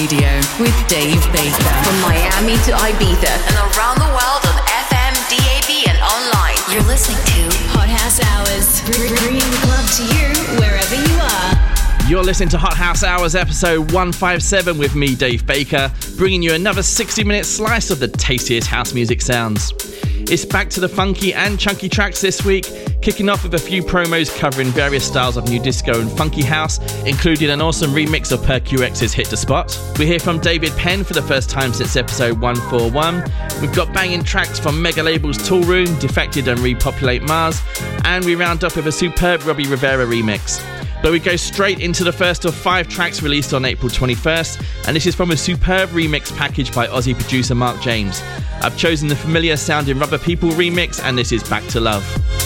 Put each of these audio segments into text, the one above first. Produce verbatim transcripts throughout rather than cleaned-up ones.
Radio with Dave Baker. From Miami to Ibiza and around the world on F M, D A B and online. You're listening to Hot House Hours, bringing the club to you wherever you are. You're listening to Hot House Hours episode one fifty-seven with me, Dave Baker, bringing you another sixty minute slice of the tastiest house music sounds. It's back to the funky and chunky tracks this week, kicking off with a few promos covering various styles of new disco and funky house, including an awesome remix of Per Q X's Hit the Spot. We hear from David Penn for the first time since episode one forty-one. We've got banging tracks from mega labels Toolroom, Defected and Repopulate Mars, and we round up with a superb Robbie Rivera remix. But we go straight into the first of five tracks released on April twenty-first, and this is from a superb remix package by Aussie producer Mark James. I've chosen the familiar sounding Rubber People remix, and this is Back to Love.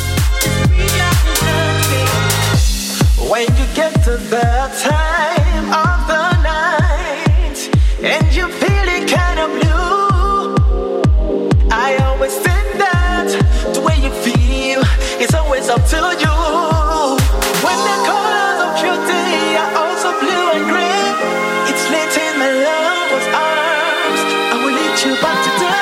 When you get to the time of the night and you're feeling kind of blue, I always think that the way you feel is always up to you. When the colors of your day are also blue and gray, it's late in my lover's arms. I will lead you back to the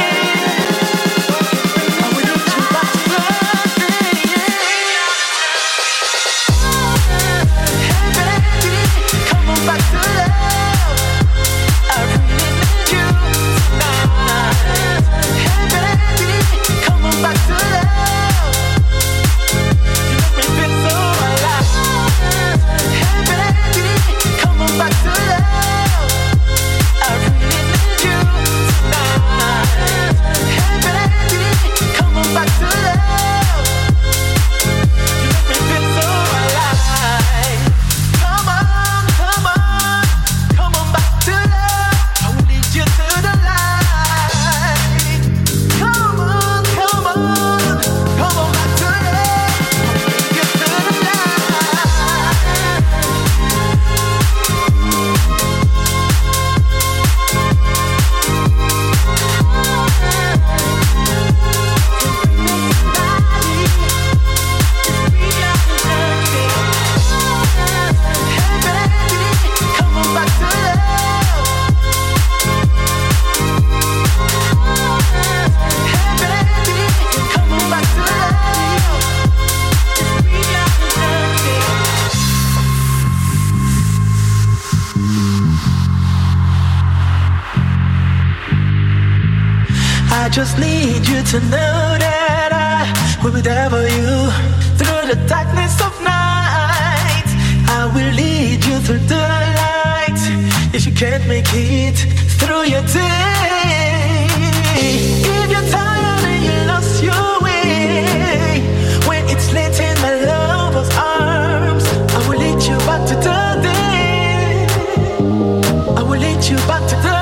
just need you to know that I will be there for you through the darkness of night. I will lead you through the light if you can't make it through your day. If you're tired and you lost your way, when it's late in my lover's arms, I will lead you back to the day. I will lead you back to the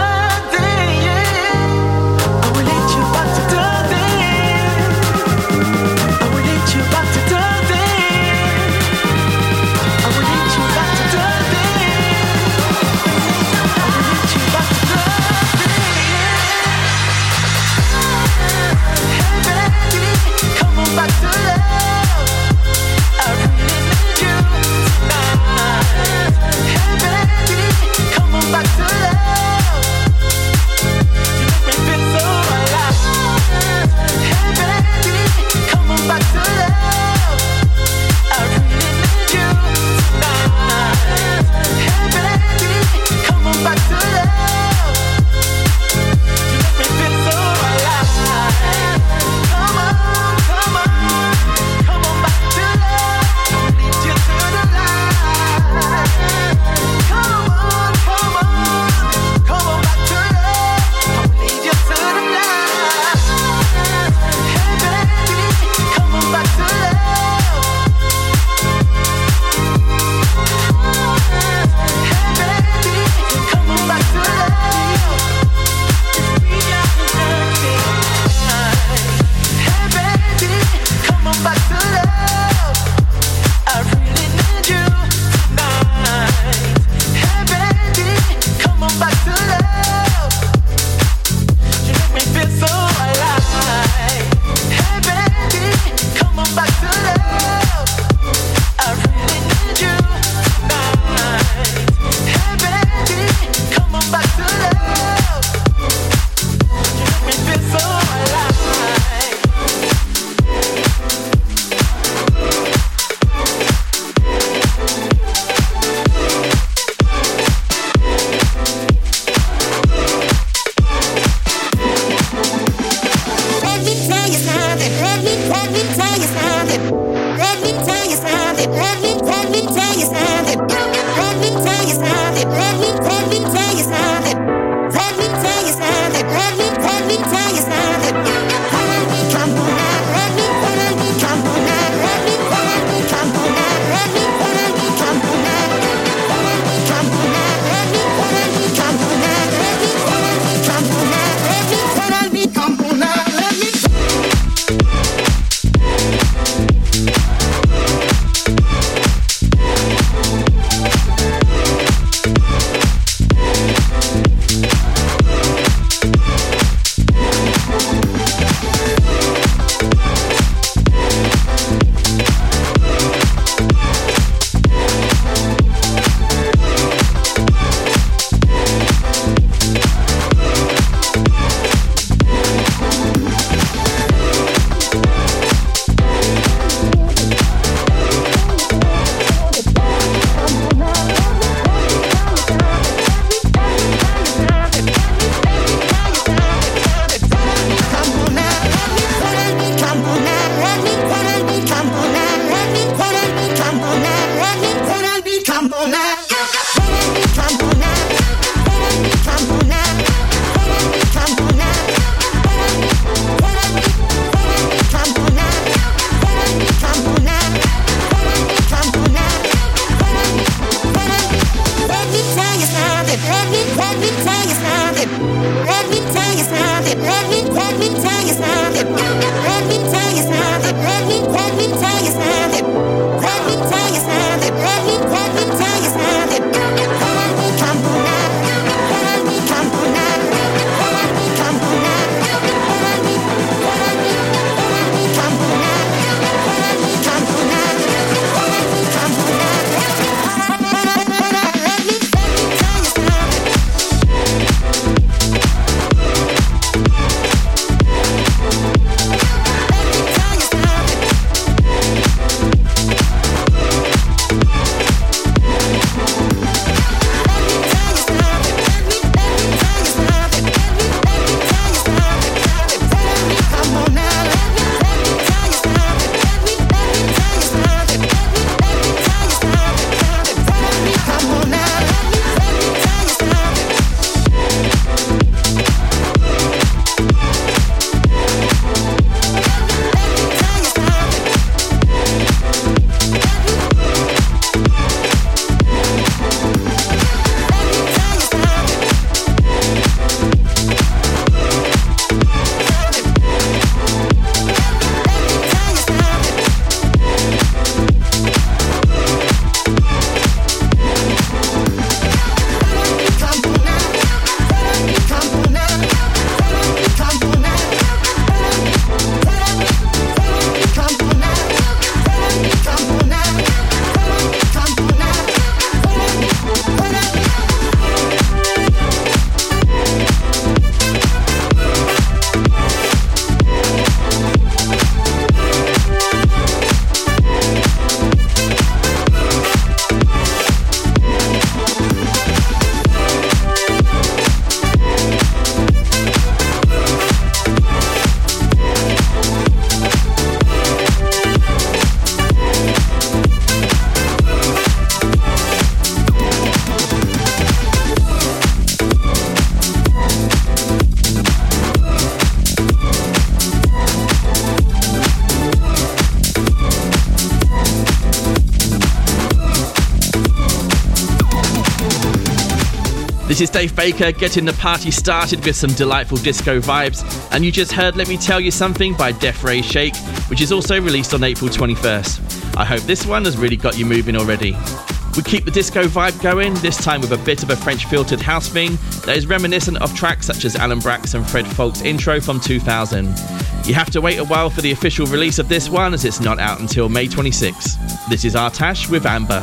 This is Dave Baker getting the party started with some delightful disco vibes, and you just heard Let Me Tell You Something by Def Ray Shake, which is also released on April twenty-first. I hope this one has really got you moving already. We keep the disco vibe going, this time with a bit of a French filtered house thing that is reminiscent of tracks such as Alan Brax and Fred Falk's intro from two thousand. You have to wait a while for the official release of this one as it's not out until May twenty-sixth. This is Artash with Amber.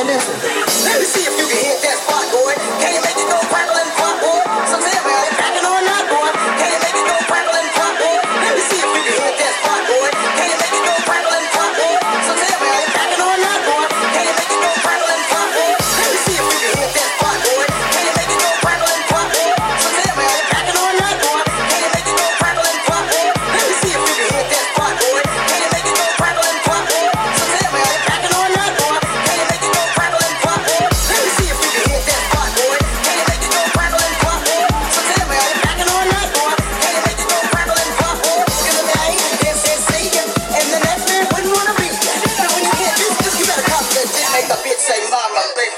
man, listen. Let me see if you can hit that spot, boy. Can you make it go crackle and pop, boy? So tell me, are you cracking or not, boy? Can you make it go crackle and pop, boy? Let me see if you can hit that spot, boy. Can you make it go crackle and pop, boy? So tell me, are you cracking or not, boy? Can you make it go crackle and pop, boy? Let me see if you can hit that spot, boy. Can you make it go crackle and pop, boy? So tell me, are you cracking or not, boy? Can you make it go crackle and pop, boy? Let me see if you can hit that spot, boy. Can you make it go crackle and pop, boy? So tell me, are you cracking or not, boy? Can you make it go crackle and pop, boy? Let me see if you can hit that spot, boy. Can you make it go crackle and pop, boy? So tell me, are you cracking or not, boy? Can you make it go crackle and pop, boy? In the night, this is Satan, and the next man wouldn't wanna be. But when you hear this, this you better cop that shit, make the bitch say mama, baby.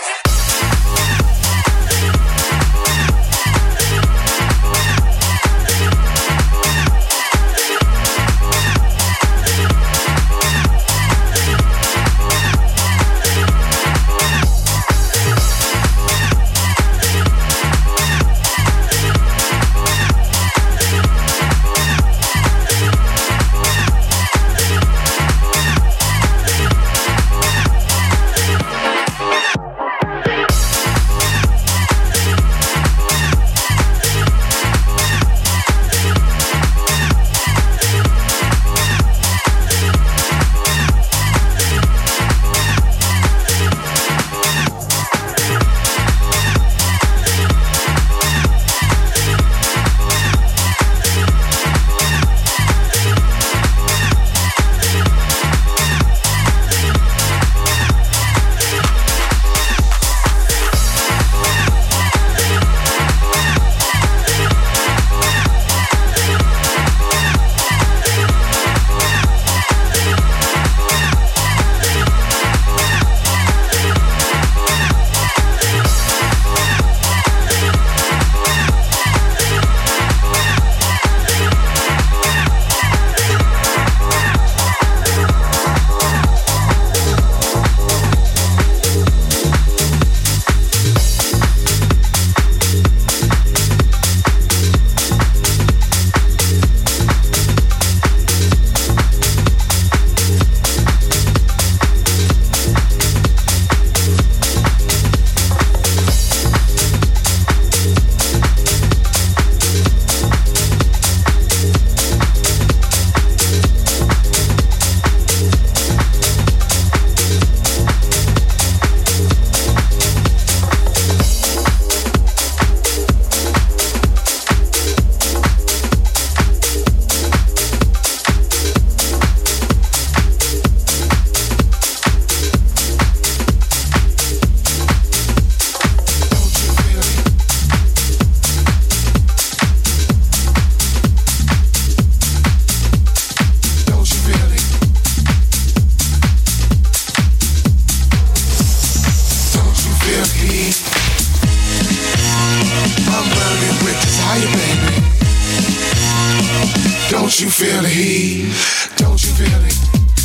Don't you feel the heat? Don't you feel it?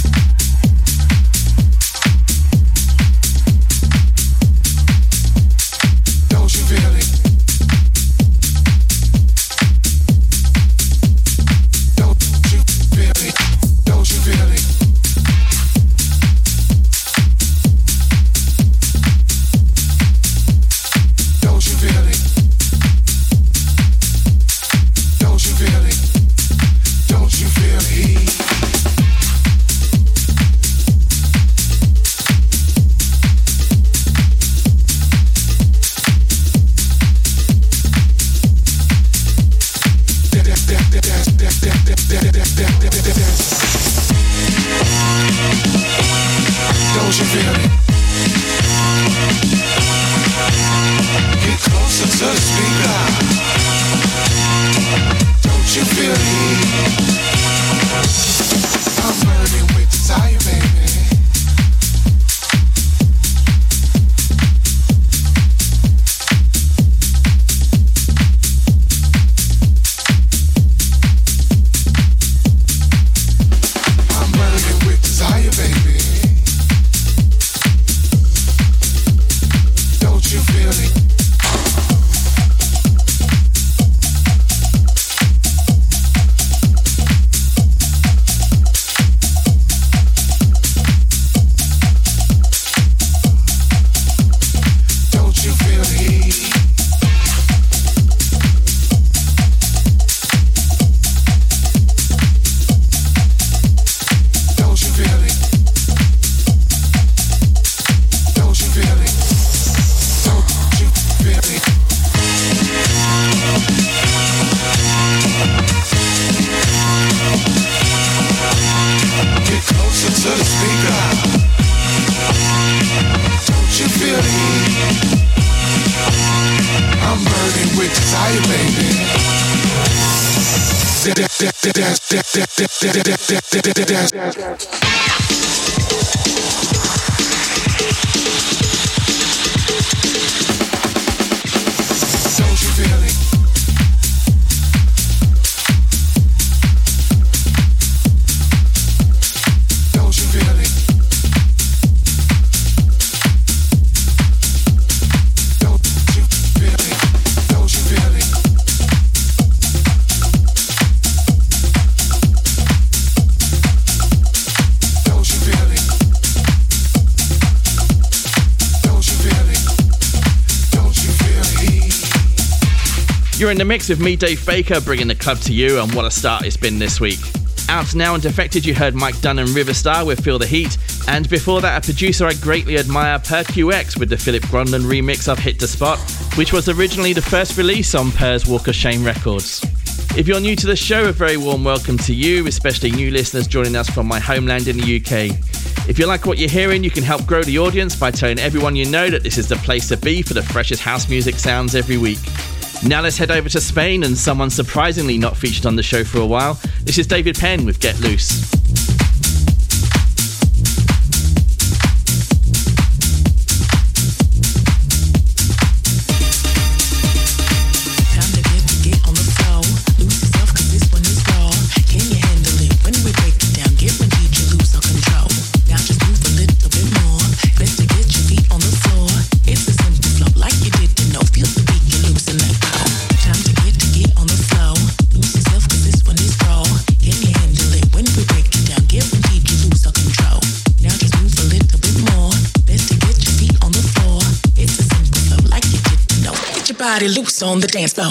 Don't you feel it? Don't you feel it? Don't you feel it? Don't you feel it? Don't you feel it? Don't you feel the heat? You're in the mix with me, Dave Baker, bringing the club to you, and what a start it's been this week. Out now and Defected, you heard Mike Dunn and Riverstar with Feel the Heat, and before that, a producer I greatly admire, Per Q X, with the Philip Grondon remix of Hit the Spot, which was originally the first release on Per's Walk of Shame records. If you're new to the show, a very warm welcome to you, especially new listeners joining us from my homeland in the U K. If you like what you're hearing, you can help grow the audience by telling everyone you know that this is the place to be for the freshest house music sounds every week. Now let's head over to Spain and someone surprisingly not featured on the show for a while. This is David Penn with Get Loose. Body loose on the dance floor.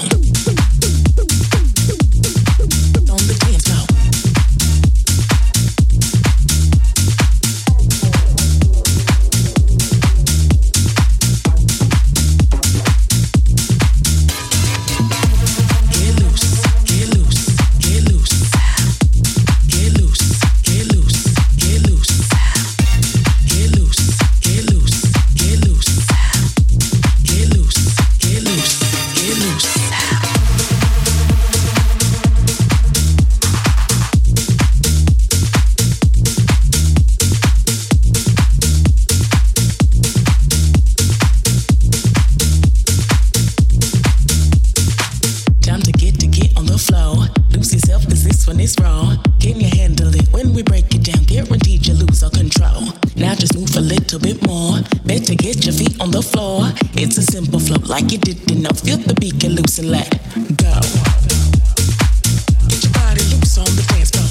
It's a simple flow, like you didn't know. Feel the beat, get loose and let go. Get your body loose on the dance floor.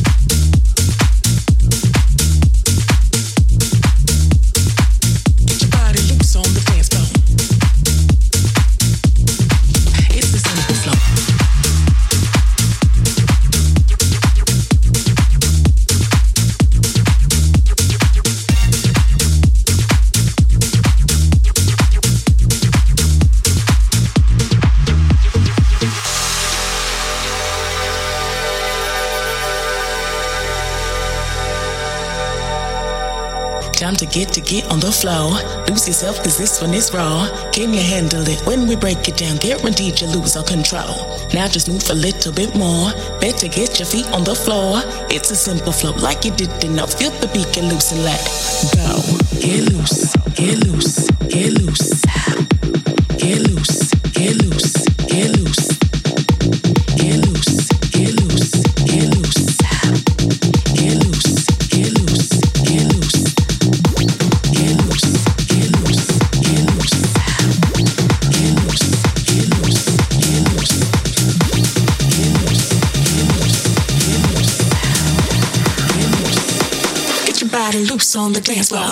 Get your body loose on the dance floor. It's a simple flow. Time to get to get on the floor. Lose yourself, cause this one is raw. Can you handle it when we break it down? Guaranteed you lose all control. Now just move a little bit more. Better get your feet on the floor. It's a simple flow, like you didn't know. Feel the beat, get loose and let go. Get loose, get loose, get loose. Get loose, get loose, get loose. Get loose, get loose, get loose. Get loose, get loose, get loose. Body loose on the dance floor.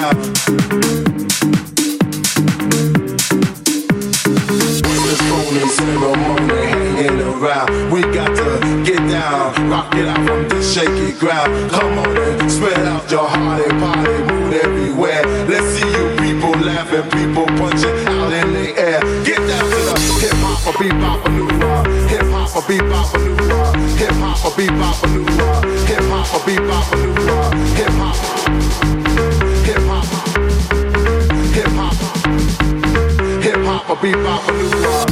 around. This phony ceremony hanging around. We got to get down, rock it out from this shaky ground. Come on and spread out your heart and body, move everywhere. Let's see you people laughing, people punching out in the air. Get down to the hip hop or bebop or new rock. Hip hop or bebop or new rock. Hip hop or bebop or new rock. Hip hop or bebop or new rock. Hip hop. Hip hop. Hip hop. Hip hop or bebop or new rock.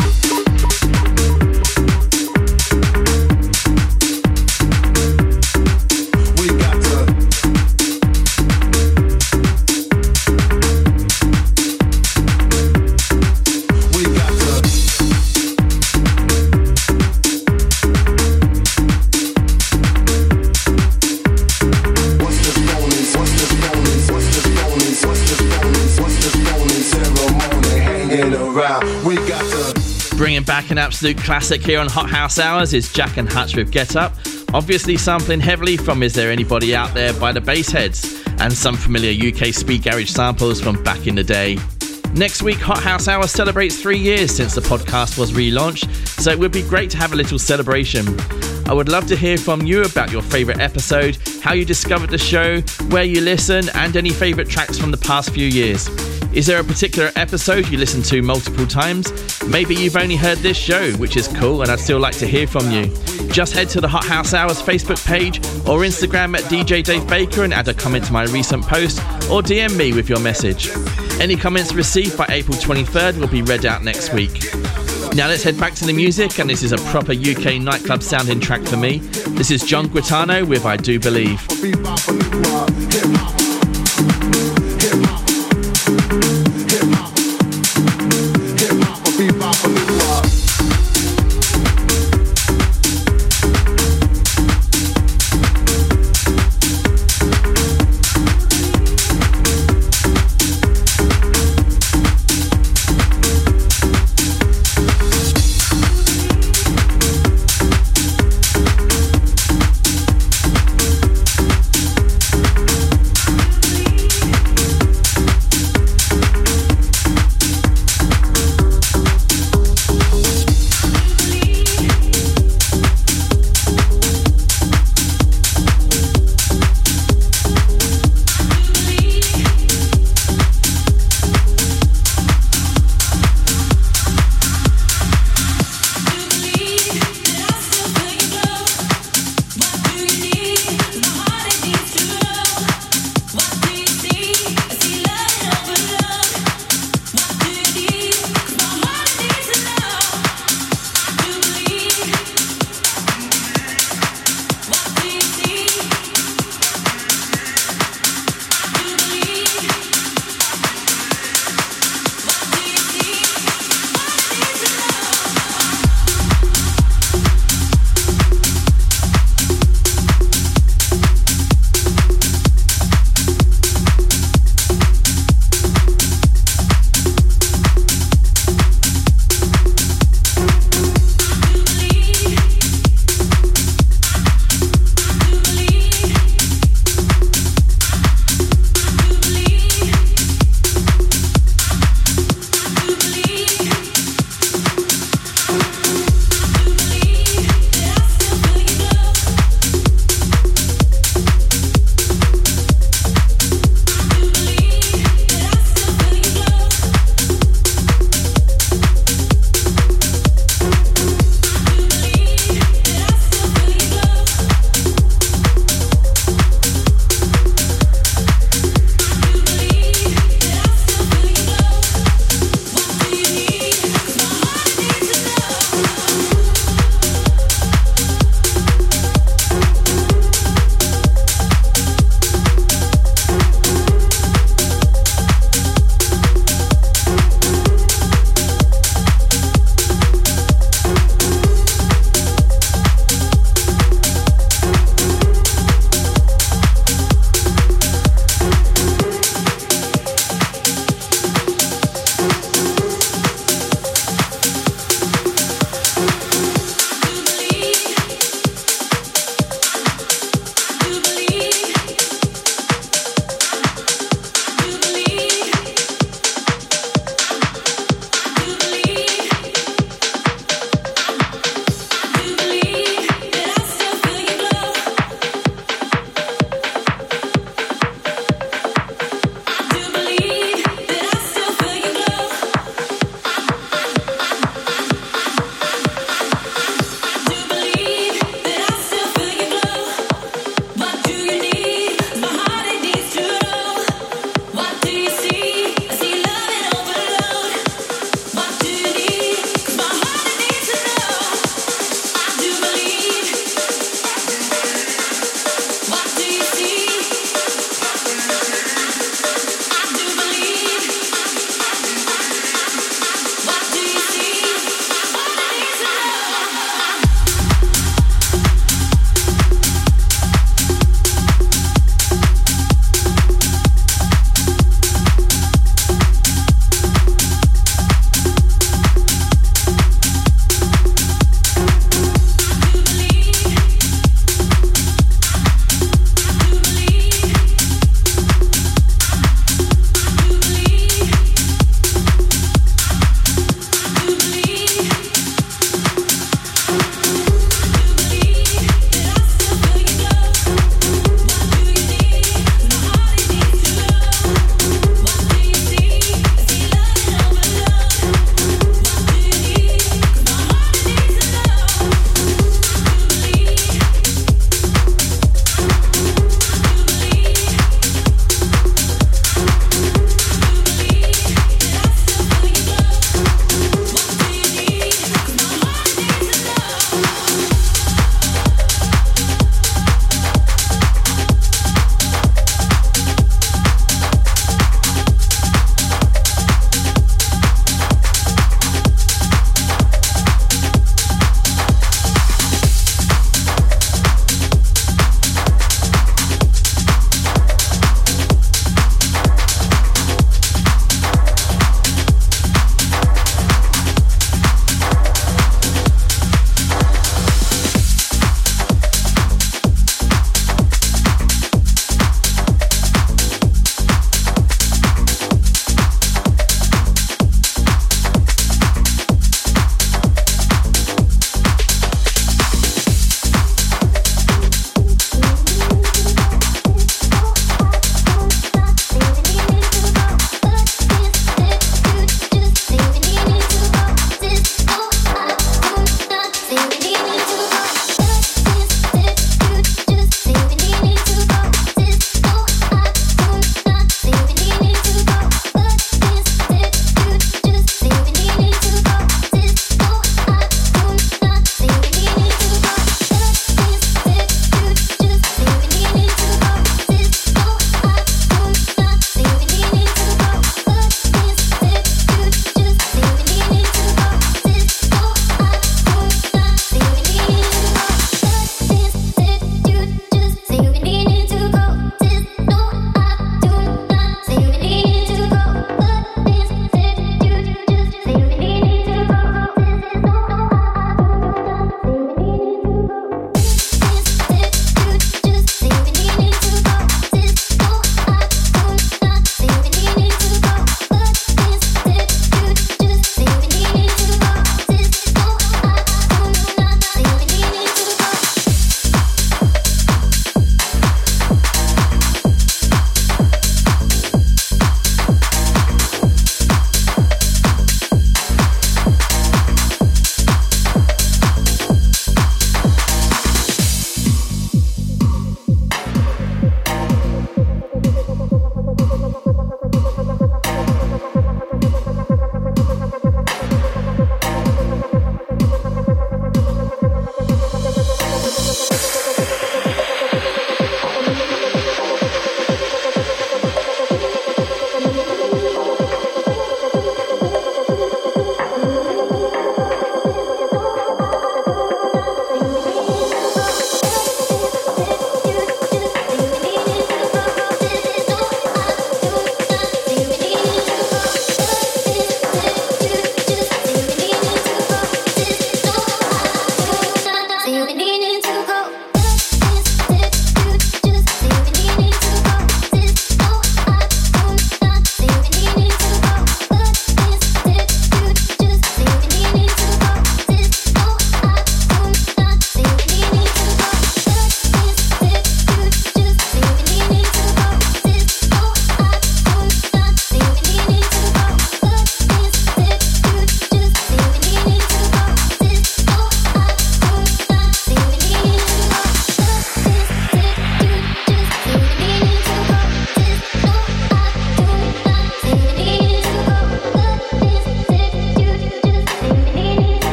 Bringing back an absolute classic here on Hot House Hours is Jack and Hutch with Get Up, obviously sampling heavily from Is There Anybody Out There by the Bassheads, and some familiar U K speed garage samples from back in the day. Next week, Hot House Hour celebrates three years since the podcast was relaunched, so it would be great to have a little celebration. I would love to hear from you about your favourite episode, how you discovered the show, where you listen, and any favourite tracks from the past few years. Is there a particular episode you listen to multiple times? Maybe you've only heard this show, which is cool, and I'd still like to hear from you. Just head to the Hot House Hours Facebook page or Instagram at D J Dave Baker and add a comment to my recent post, or D M me with your message. Any comments received by April twenty-third will be read out next week. Now let's head back to the music, and this is a proper U K nightclub sounding track for me. This is John Guitano with I Do Believe.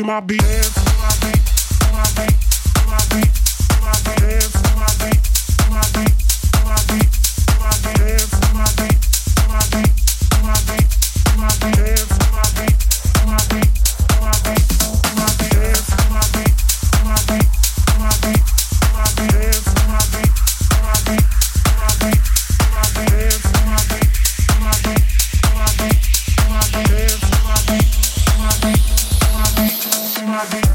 my beat, dance to my beat, to my beat, to my beat, to my beat, dance to my beat, to my beat, to my beat, to my beat, dance to my beat, to my beat, to my beat, to my beat, dance to my beat, to my beat, to my beat, to my beat, dance to my beat, to my beat, to my beat, to my beat, dance to my beat, to my beat, to my beat, to my beat, dance to my beat, to my beat, to my beat, to my beat, dance to my beat, to my beat, to my beat, to my beat.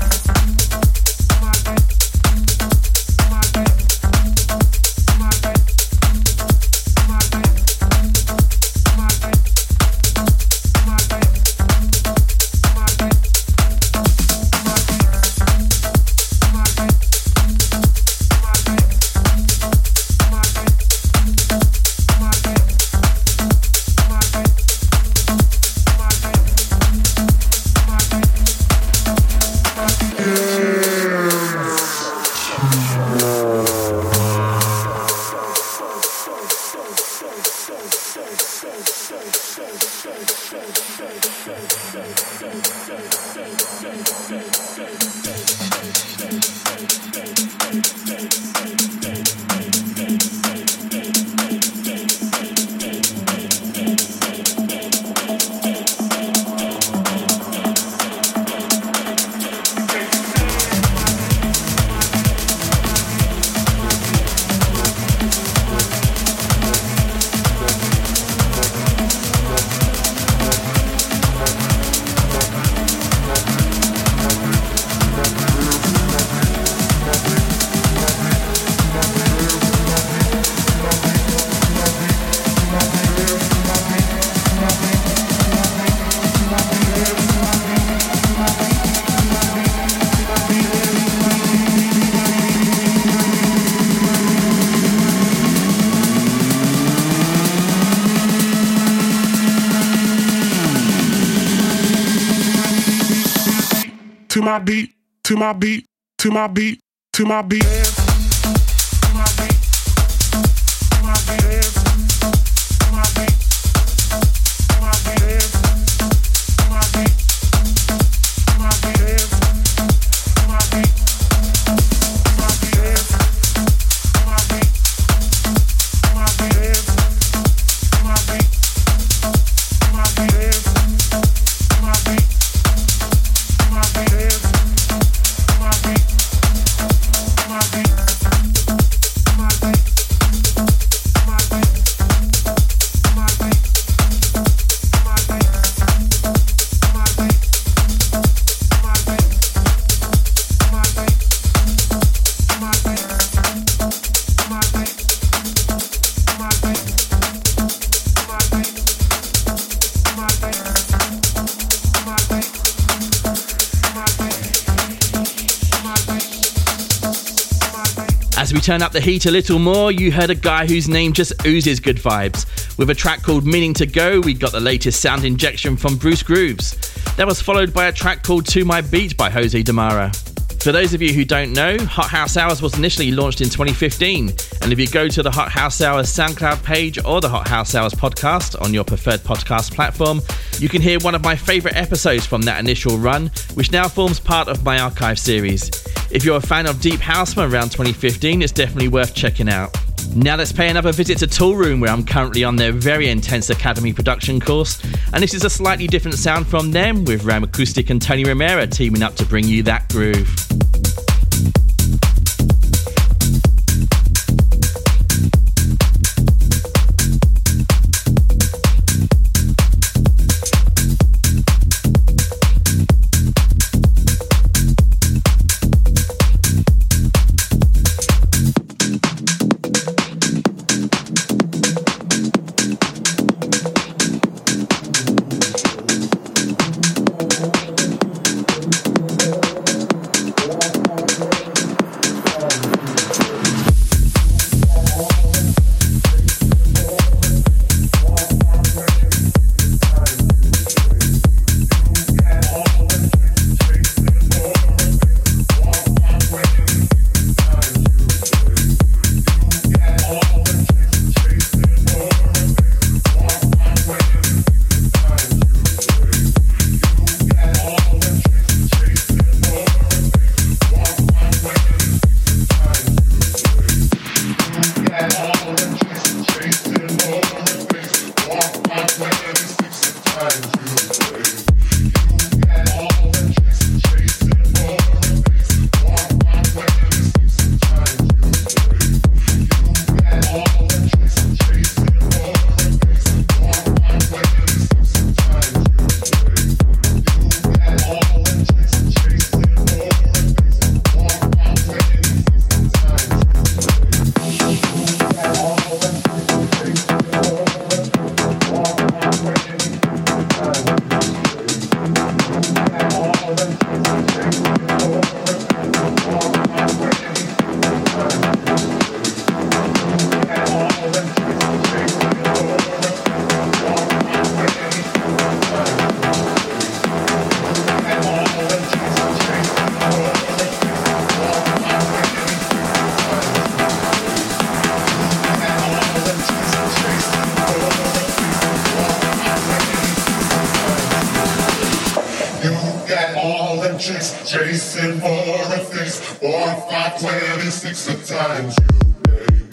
To my beat, to my beat, to my beat, to my beat. Dance. To my beat, to my beat, dance. To my beat, to my beat, dance. To my beat, to my beat, dance. To my beat, to my beat, dance. To my beat, to my beat, dance. To my beat, to my beat, dance. To my beat. As we turn up the heat a little more, you heard a guy whose name just oozes good vibes. With a track called Meaning to Go, we got the latest sound injection from Bruce Grooves. That was followed by a track called To My Beat by Jose Damara. For those of you who don't know, Hot House Hours was initially launched in twenty fifteen, and if you go to the Hot House Hours SoundCloud page or the Hot House Hours podcast on your preferred podcast platform, you can hear one of my favourite episodes from that initial run, which now forms part of my archive series. If you're a fan of Deep House from around twenty fifteen, it's definitely worth checking out. Now let's pay another visit to Toolroom, where I'm currently on their very intense Academy production course, and this is a slightly different sound from them, with Ram Acoustic and Tony Romero teaming up to bring you that groove. twenty-six times you, baby.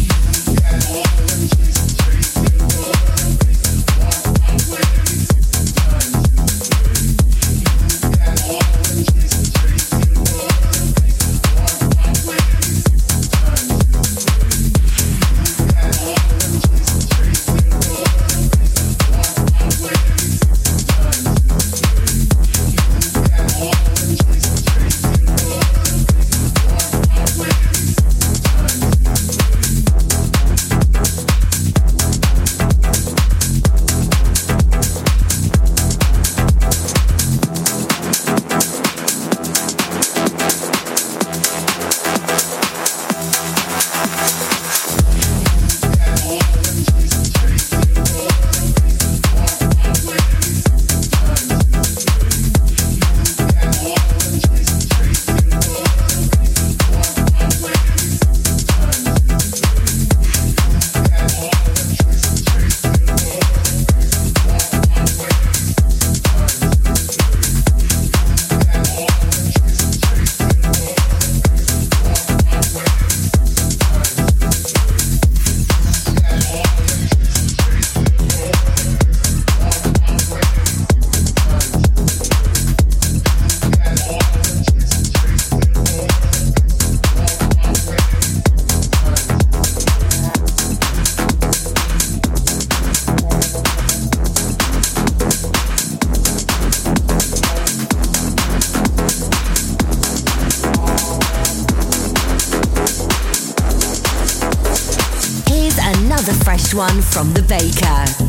One from the Baker.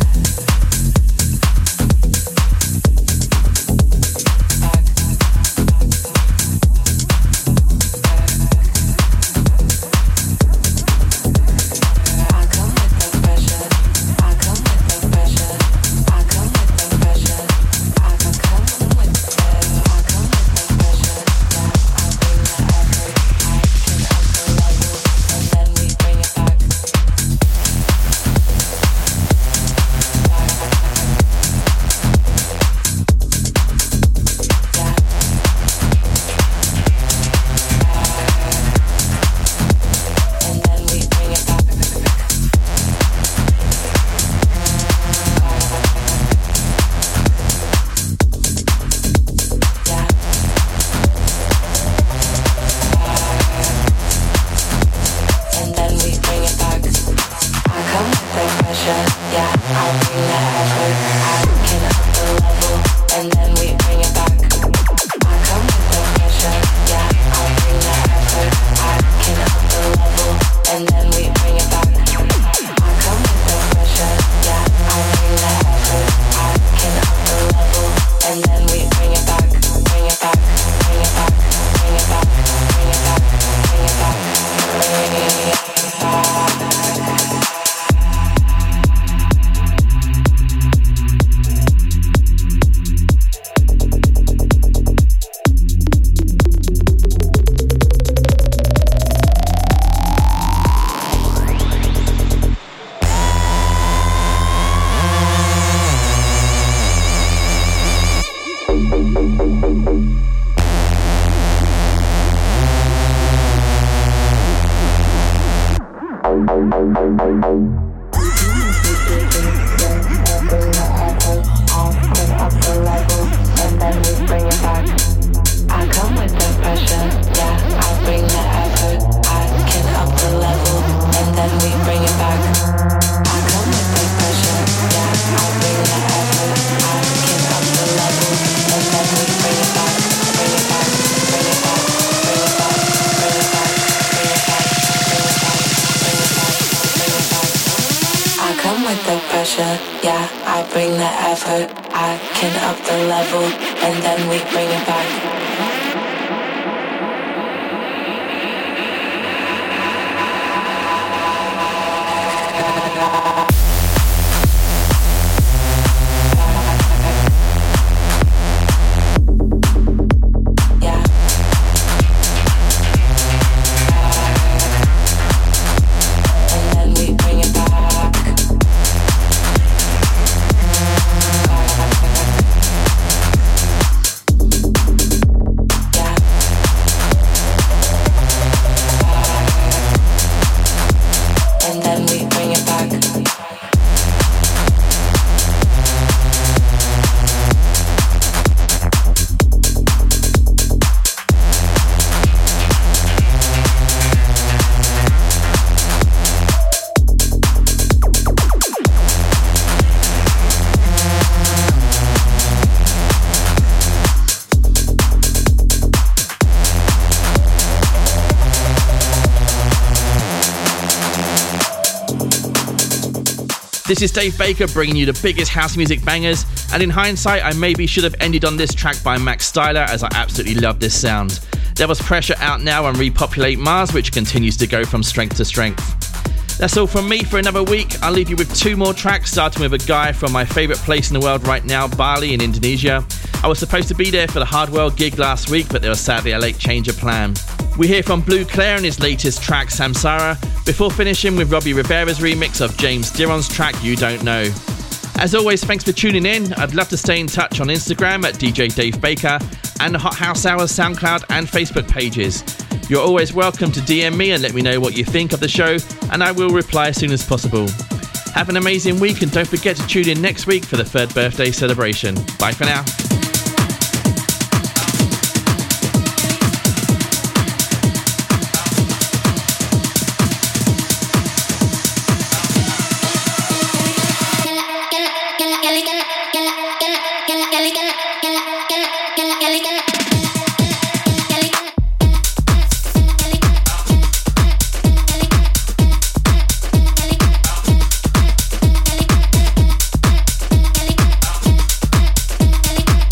Yeah, I bring the effort, I can up the level, and then we bring it back. This is Dave Baker bringing you the biggest house music bangers, and in hindsight I maybe should have ended on this track by Max Styler, as I absolutely love this sound. There was Pressure out now on Repopulate Mars, which continues to go from strength to strength. That's all from me for another week. I'll leave you with two more tracks, starting with a guy from my favourite place in the world right now, Bali in Indonesia. I was supposed to be there for the Hardwell gig last week, but there was sadly a late change of plan. We hear from Blue Claire and his latest track, Samsara, before finishing with Robbie Rivera's remix of James Diron's track, You Don't Know. As always, thanks for tuning in. I'd love to stay in touch on Instagram at D J Dave Baker and the Hot House Hours SoundCloud and Facebook pages. You're always welcome to D M me and let me know what you think of the show, and I will reply as soon as possible. Have an amazing week, and don't forget to tune in next week for the third birthday celebration. Bye for now. Kelly,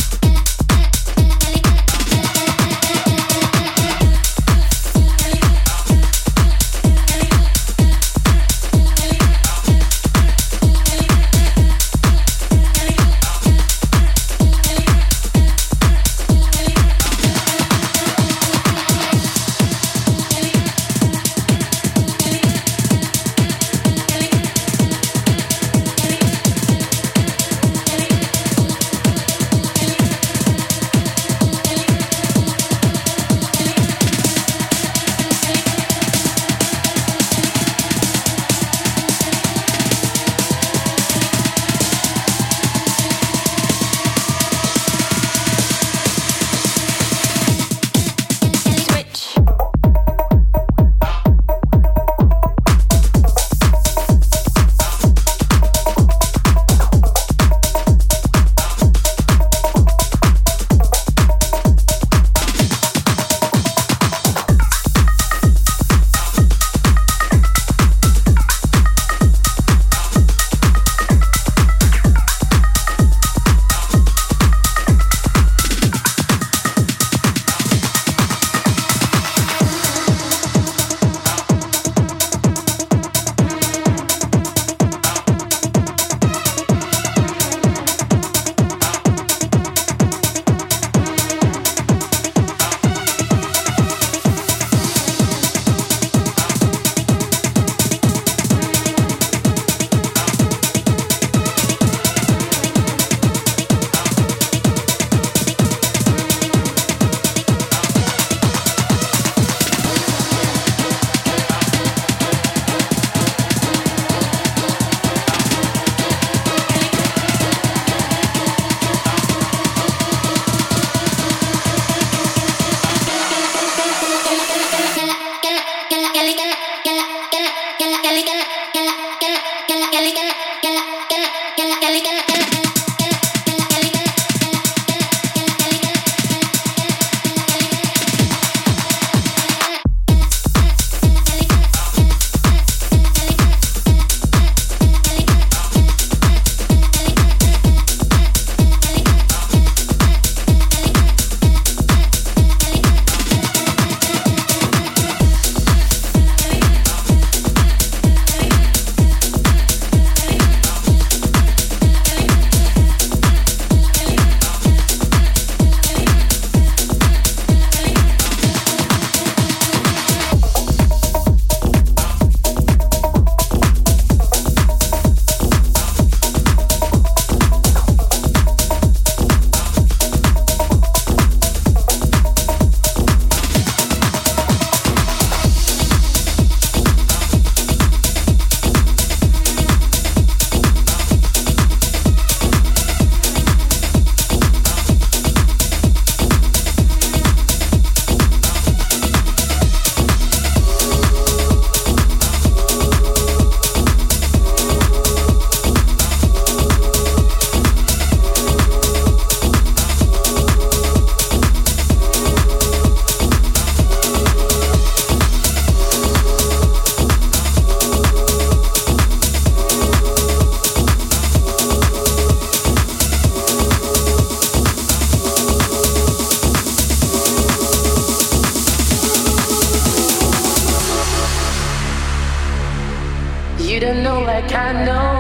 You don't know like I know.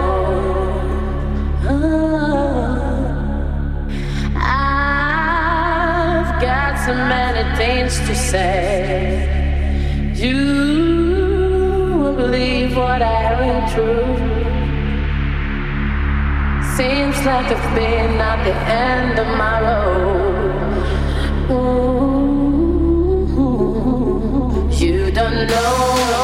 I've got so many things to say. You won't believe what I went through. Seems like I've been at the end of my road. Ooh, you don't know.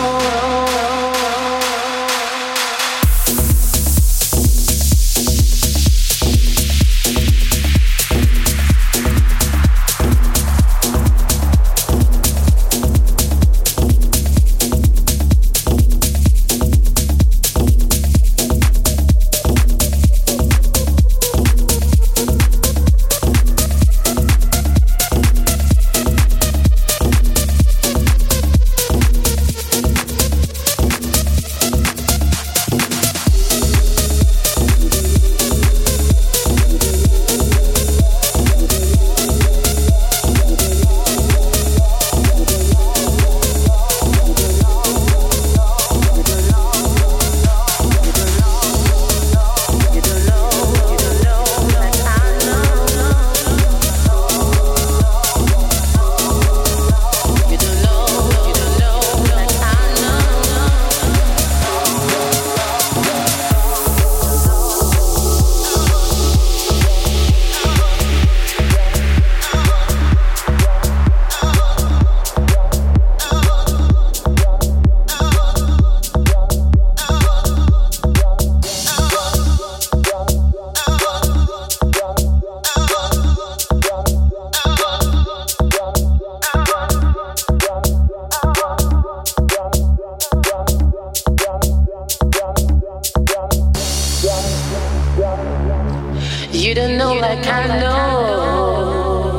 You don't know like I know.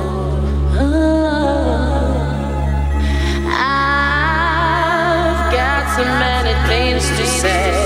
I've got so many things to say.